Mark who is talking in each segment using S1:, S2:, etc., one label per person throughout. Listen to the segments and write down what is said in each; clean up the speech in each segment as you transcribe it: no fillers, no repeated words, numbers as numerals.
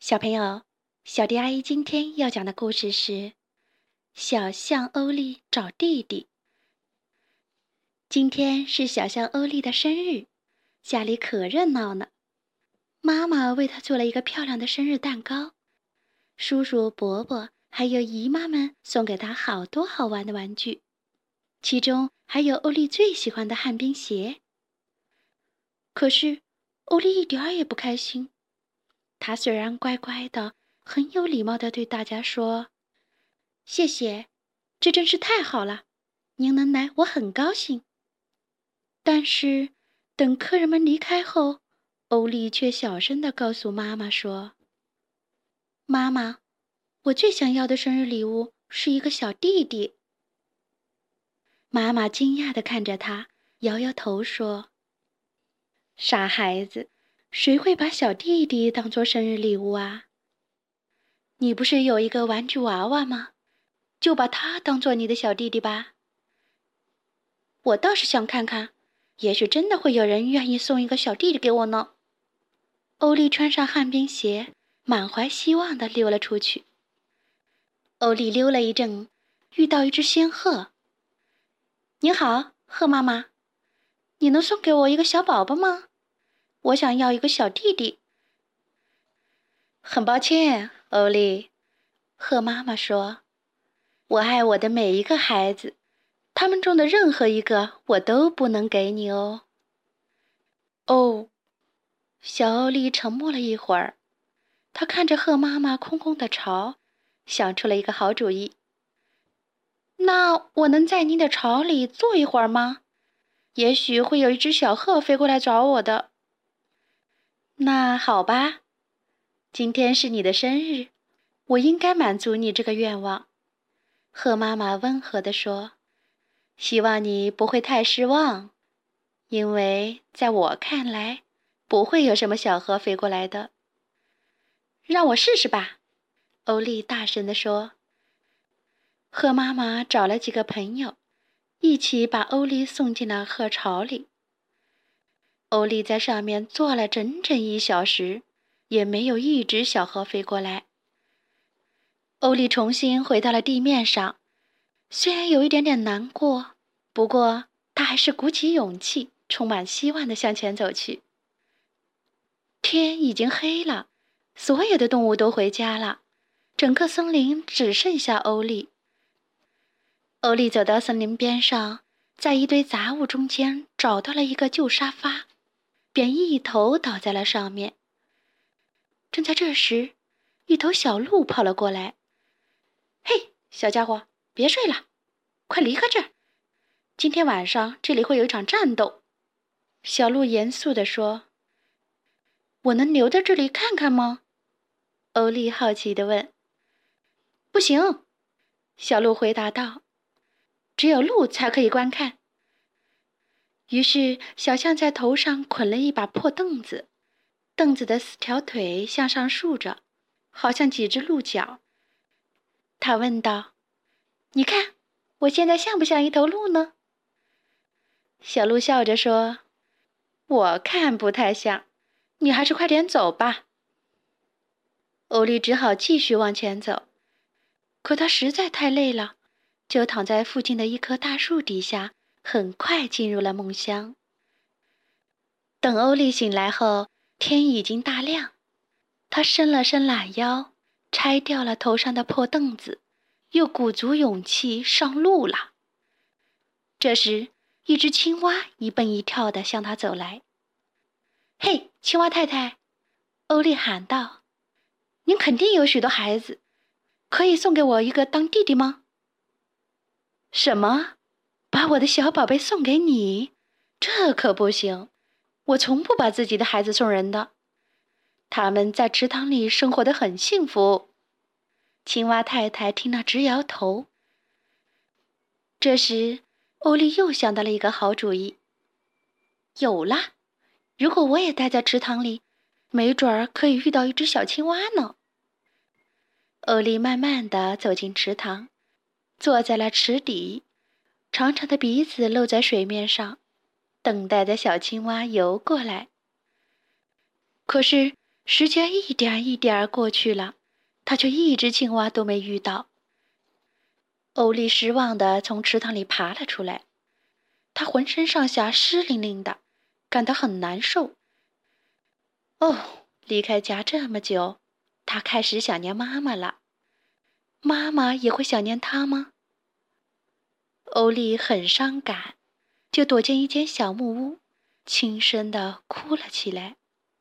S1: 小朋友，小迪阿姨今天要讲的故事是《小象欧丽找弟弟》。今天是小象欧丽的生日，家里可热闹呢。妈妈为她做了一个漂亮的生日蛋糕，叔叔、伯伯还有姨妈们送给她好多好玩的玩具，其中还有欧丽最喜欢的旱冰鞋。可是，欧丽一点儿也不开心。她虽然乖乖的，很有礼貌地对大家说：“谢谢，这真是太好了，您能来，我很高兴。”但是，等客人们离开后，欧丽却小声地告诉妈妈说：“妈妈，我最想要的生日礼物是一个小弟弟。”妈妈惊讶地看着她，摇摇头说：“傻孩子，谁会把小弟弟当作生日礼物啊？你不是有一个玩具娃娃吗？就把他当作你的小弟弟吧。我倒是想看看，也许真的会有人愿意送一个小弟弟给我呢。”欧丽穿上旱冰鞋，满怀希望地溜了出去。欧丽溜了一阵，遇到一只仙鹤。“您好，鹤妈妈，你能送给我一个小宝宝吗？我想要一个小弟弟。”“很抱歉，欧丽。”鹤妈妈说，“我爱我的每一个孩子，他们中的任何一个我都不能给你哦。”“哦。”小欧丽沉默了一会儿，她看着鹤妈妈空空的巢，想出了一个好主意。“那我能在您的巢里坐一会儿吗？也许会有一只小鹤飞过来找我的。”“那好吧，今天是你的生日，我应该满足你这个愿望。”鹤妈妈温和地说，“希望你不会太失望，因为在我看来，不会有什么小鹤飞过来的。”“让我试试吧。”欧丽大声地说。鹤妈妈找了几个朋友，一起把欧丽送进了鹤巢里。欧丽在上面坐了整整1小时，也没有一只小鹤飞过来。欧丽重新回到了地面上，虽然有一点点难过，不过她还是鼓起勇气，充满希望地向前走去。天已经黑了，所有的动物都回家了，整个森林只剩下欧丽。欧丽走到森林边上，在一堆杂物中间找到了一个旧沙发，便一头倒在了上面。正在这时，一头小鹿跑了过来。“嘿，小家伙，别睡了，快离开这儿！今天晚上这里会有一场战斗。”小鹿严肃地说。“我能留在这里看看吗？”欧丽好奇地问。“不行。”小鹿回答道，“只有鹿才可以观看。”于是小象在头上捆了一把破凳子，凳子的4条腿向上竖着，好像几只鹿角。他问道：“你看，我现在像不像一头鹿呢？”小鹿笑着说：“我看不太像，你还是快点走吧。”欧丽只好继续往前走，可她实在太累了，就躺在附近的一棵大树底下，很快进入了梦乡。等欧丽醒来后，天已经大亮。她伸了伸懒腰，拆掉了头上的破凳子，又鼓足勇气上路了。这时，一只青蛙一蹦一跳地向她走来。“嘿，青蛙太太！”欧丽喊道，“您肯定有许多孩子，可以送给我一个当弟弟吗？”“什么？把我的小宝贝送给你？这可不行！我从不把自己的孩子送人的。他们在池塘里生活得很幸福。”青蛙太太听了直摇头。这时，欧丽又想到了一个好主意。“有了！如果我也待在池塘里，没准儿可以遇到一只小青蛙呢。”欧丽慢慢地走进池塘，坐在了池底，长长的鼻子露在水面上，等待着小青蛙游过来。可是时间一点一点过去了，他却一只青蛙都没遇到。欧丽失望地从池塘里爬了出来，她浑身上下湿淋淋的，感到很难受。哦，离开家这么久，她开始想念妈妈了。妈妈也会想念她吗？欧丽很伤感，就躲进一间小木屋，轻声地哭了起来。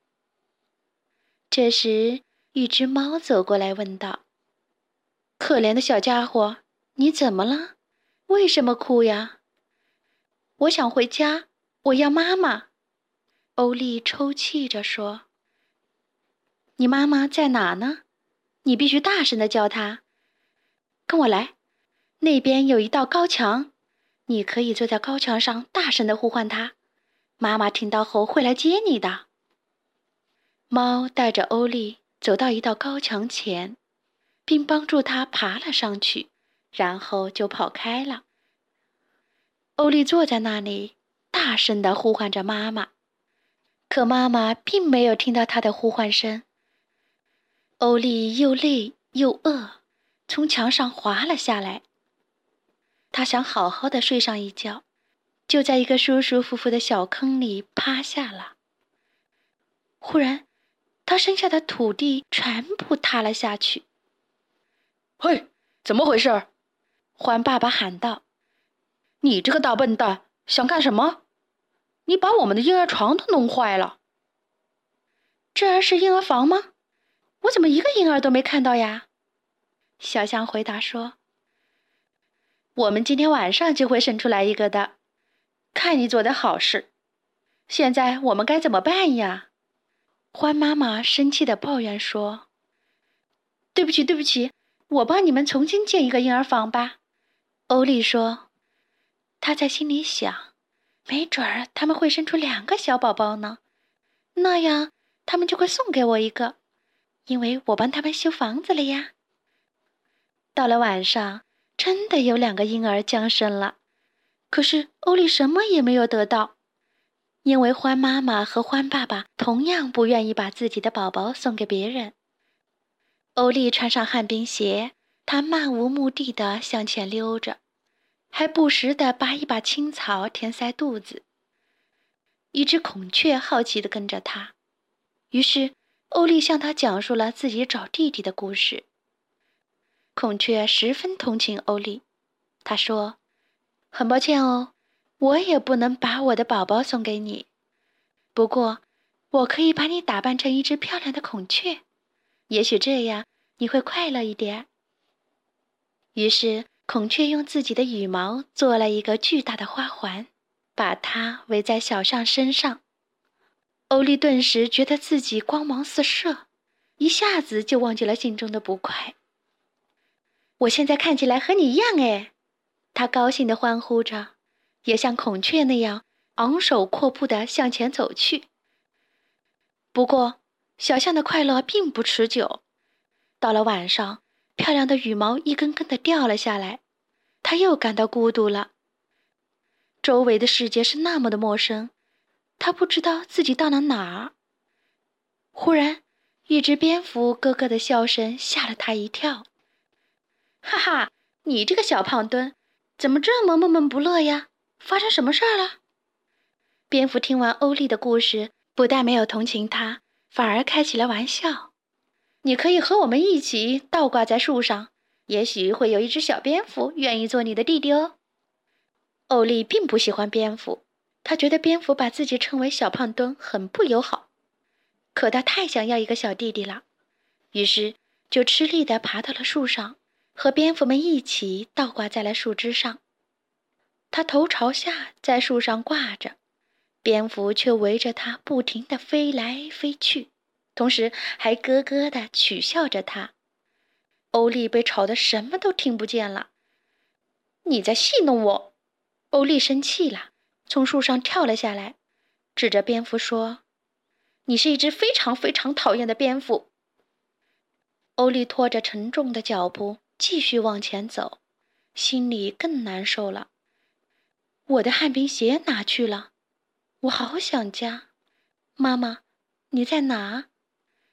S1: 这时，一只猫走过来问道：“可怜的小家伙，你怎么了？为什么哭呀？”“我想回家，我要妈妈。”欧丽抽泣着说。“你妈妈在哪呢？你必须大声地叫她。跟我来，那边有一道高墙，你可以坐在高墙上大声地呼唤她，妈妈听到后会来接你的。”猫带着欧丽走到一道高墙前，并帮助她爬了上去，然后就跑开了。欧丽坐在那里，大声地呼唤着妈妈，可妈妈并没有听到她的呼唤声。欧丽又累又饿，从墙上滑了下来。她想好好的睡上一觉，就在一个舒舒服服的小坑里趴下了。忽然，她身下的土地全部塌了下去。“嘿，怎么回事？”獾爸爸喊道。“你这个大笨蛋，想干什么？你把我们的婴儿床都弄坏了。”“这儿是婴儿房吗？我怎么一个婴儿都没看到呀？”小象回答说。“我们今天晚上就会生出来一个的，看你做的好事。现在我们该怎么办呀？”獾妈妈生气地抱怨说。“对不起，对不起，我帮你们重新建一个婴儿房吧。”欧丽说。她在心里想，没准儿他们会生出2个小宝宝呢，那样他们就会送给我一个，因为我帮他们修房子了呀。到了晚上，真的有2个婴儿降生了，可是欧丽什么也没有得到，因为獾妈妈和獾爸爸同样不愿意把自己的宝宝送给别人。欧丽穿上旱冰鞋，她漫无目的地向前溜着，还不时地拔一把青草填塞肚子。一只孔雀好奇地跟着她，于是欧丽向他讲述了自己找弟弟的故事。孔雀十分同情欧丽，他说：“很抱歉哦，我也不能把我的宝宝送给你，不过我可以把你打扮成一只漂亮的孔雀，也许这样你会快乐一点。”于是孔雀用自己的羽毛做了一个巨大的花环，把它围在小象身上。欧丽顿时觉得自己光芒四射，一下子就忘记了心中的不快。“我现在看起来和你一样哎！”她高兴地欢呼着，也像孔雀那样昂首阔步地向前走去。不过，小象的快乐并不持久。到了晚上，漂亮的羽毛一根根地掉了下来，她又感到孤独了。周围的世界是那么的陌生，她不知道自己到了哪儿。忽然，一只蝙蝠咯咯的笑声吓了她一跳。“哈哈，你这个小胖墩，怎么这么闷闷不乐呀？发生什么事儿了？”蝙蝠听完欧丽的故事，不但没有同情她，反而开起了玩笑。“你可以和我们一起倒挂在树上，也许会有一只小蝙蝠愿意做你的弟弟哦。”欧丽并不喜欢蝙蝠，她觉得蝙蝠把自己称为小胖墩很不友好，可她太想要一个小弟弟了，于是就吃力地爬到了树上，和蝙蝠们一起倒挂在了树枝上。它头朝下在树上挂着，蝙蝠却围着它不停地飞来飞去，同时还咯咯地取笑着它。欧丽被吵得什么都听不见了。“你在戏弄我！”欧丽生气了，从树上跳了下来，指着蝙蝠说：“你是一只非常非常讨厌的蝙蝠。”欧丽拖着沉重的脚步继续往前走，心里更难受了。我的旱冰鞋哪去了？我好想家。妈妈，你在哪？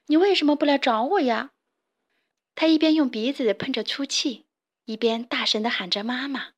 S1: 你为什么不来找我呀？他一边用鼻子喷着粗气，一边大声地喊着妈妈。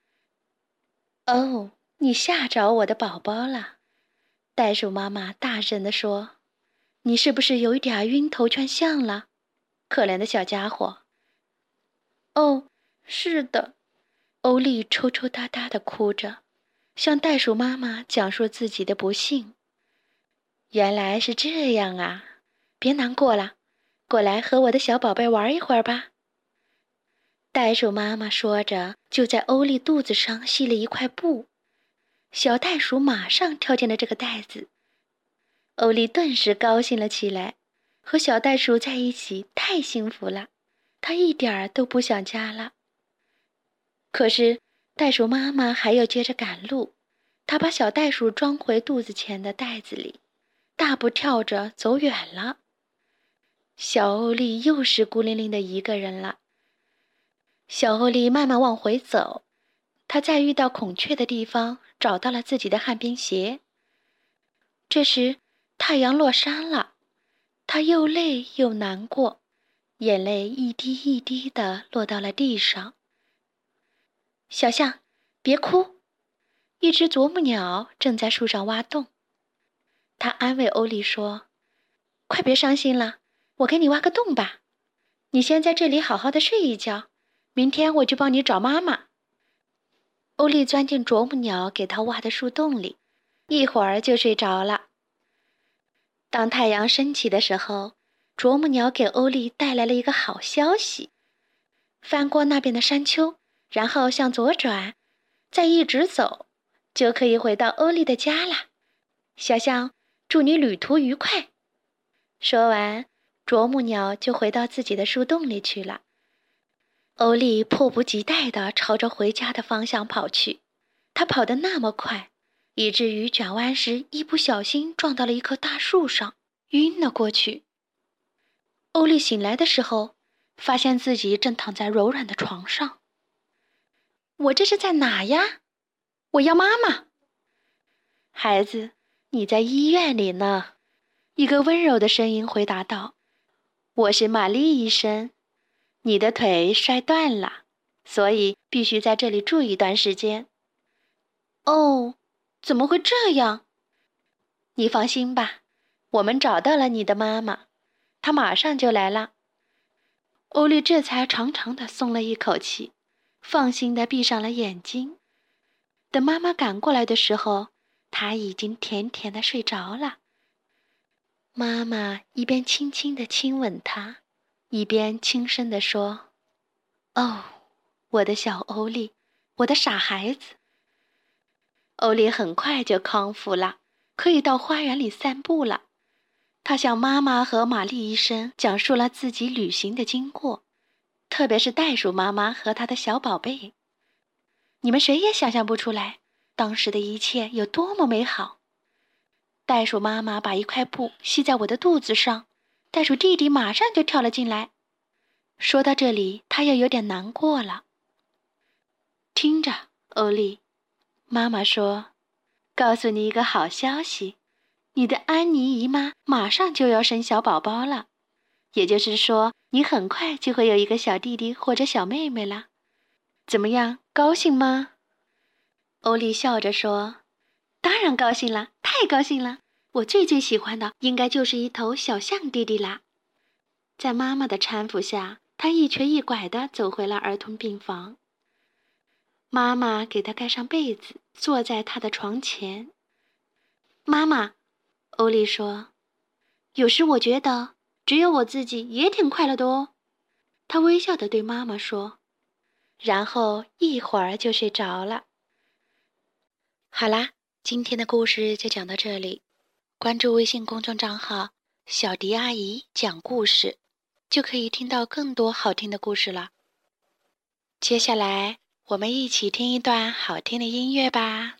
S1: 哦，你吓着我的宝宝了，袋鼠妈妈大声地说。你是不是有一点晕头转向了？可怜的小家伙。哦，是的。欧丽抽抽搭搭地哭着，向袋鼠妈妈讲述自己的不幸。原来是这样啊，别难过了，过来和我的小宝贝玩一会儿吧。袋鼠妈妈说着，就在欧丽肚子上系了一块布。小袋鼠马上跳进了这个袋子。欧丽顿时高兴了起来，和小袋鼠在一起太幸福了，她一点儿都不想家了。可是袋鼠妈妈还要接着赶路，她把小袋鼠装回肚子前的袋子里，大步跳着走远了。小欧丽又是孤零零的一个人了。小欧丽慢慢往回走，她在遇到孔雀的地方找到了自己的旱冰鞋。这时太阳落山了，她又累又难过，眼泪一滴一滴地落到了地上。小象，别哭，一只啄木鸟正在树上挖洞。它安慰欧丽说，快别伤心了，我给你挖个洞吧，你先在这里好好的睡一觉，明天我就帮你找妈妈。欧丽钻进啄木鸟给她挖的树洞里，一会儿就睡着了。当太阳升起的时候，啄木鸟给欧丽带来了一个好消息。翻过那边的山丘，然后向左转，再一直走，就可以回到欧丽的家啦。小象，祝你旅途愉快。说完，啄木鸟就回到自己的树洞里去了。欧丽迫不及待地朝着回家的方向跑去，她跑得那么快，以至于转弯时一不小心撞到了一棵大树上，晕了过去。欧丽醒来的时候，发现自己正躺在柔软的床上。我这是在哪呀？我要妈妈。孩子，你在医院里呢。一个温柔的声音回答道，我是玛丽医生，你的腿摔断了，所以必须在这里住一段时间。哦，怎么会这样？你放心吧，我们找到了你的妈妈，她马上就来了。欧丽这才长长地松了一口气，放心地闭上了眼睛。等妈妈赶过来的时候，她已经甜甜地睡着了。妈妈一边轻轻地亲吻她，一边轻声地说，哦，我的小欧丽，我的傻孩子。欧丽很快就康复了，可以到花园里散步了。她向妈妈和玛丽医生讲述了自己旅行的经过，特别是袋鼠妈妈和她的小宝贝。你们谁也想象不出来，当时的一切有多么美好。袋鼠妈妈把一块布系在我的肚子上，袋鼠弟弟马上就跳了进来。说到这里，他又有点难过了。听着，欧丽，妈妈说，告诉你一个好消息，你的安妮姨妈马上就要生小宝宝了，也就是说，你很快就会有一个小弟弟或者小妹妹了。怎么样，高兴吗？欧丽笑着说，当然高兴了，太高兴了，我最喜欢的应该就是一头小象弟弟啦。在妈妈的搀扶下，他一瘸一拐地走回了儿童病房。妈妈给他盖上被子，坐在他的床前。妈妈，欧丽说，有时我觉得只有我自己也挺快乐的哦。他微笑地对妈妈说，然后一会儿就睡着了。好啦，今天的故事就讲到这里。关注微信公众账号小迪阿姨讲故事，就可以听到更多好听的故事了。接下来我们一起听一段好听的音乐吧。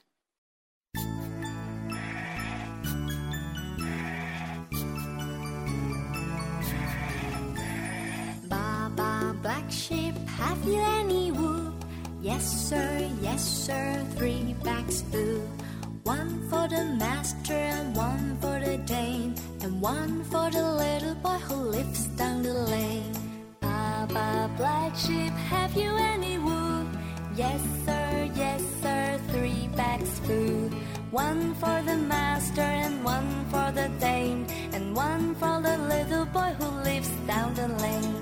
S2: Baba, black sheep, have you any wool? Yes, sir, 3 bags full. One for the master and one for the dame, and one for the little boy who lives down the lane. Baba Black Sheep, have you any wool? Yes sir, 3 bags full. One for the master and one for the dame, and one for the little boy who lives down the lane.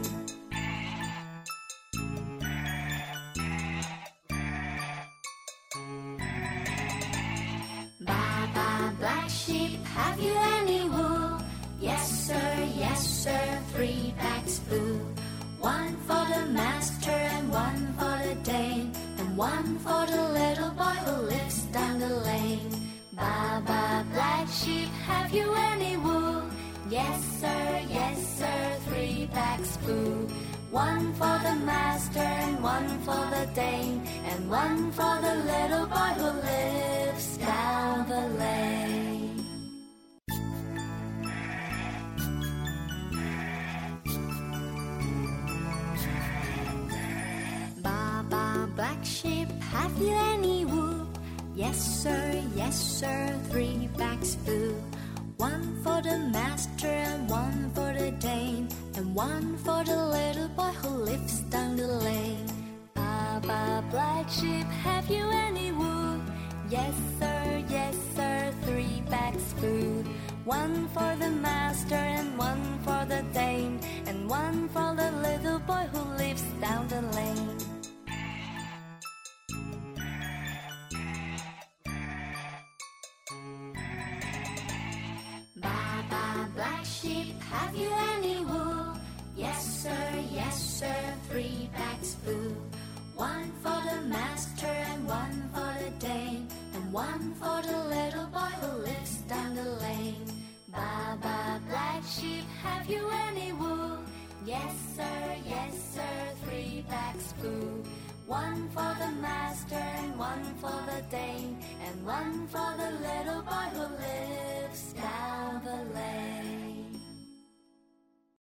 S2: Baba Black Sheep, have you any wool? Yes sir, 3 bags full. One for the master and one for the dame, and one for the little boy who lives down the lane. Baba Black Sheep, have you any wool? Yes sir, 3 bags full. One for the master and one for the dame, and one for the little boy who lives down the lane. Baba Black Sheep, have you any wool? Yes sir, 3 bags full. One for the master and one for the dame, and one for the little boy who lives down the lane. Baba Black Sheep, have you any wool? Yes sir, 3 bags full. One for the master and one for the dame, and one for the little boy who lives down the lane. Baba Black Sheep, have you any wool? Yes sir, 3 bags full. One for the master and one for the dame, and one for the little boy who lives down the lane. Baba Black Sheep, have you any wool? Yes sir, 3 bags full. One for the master and one for the dame, and one for the little boy who lives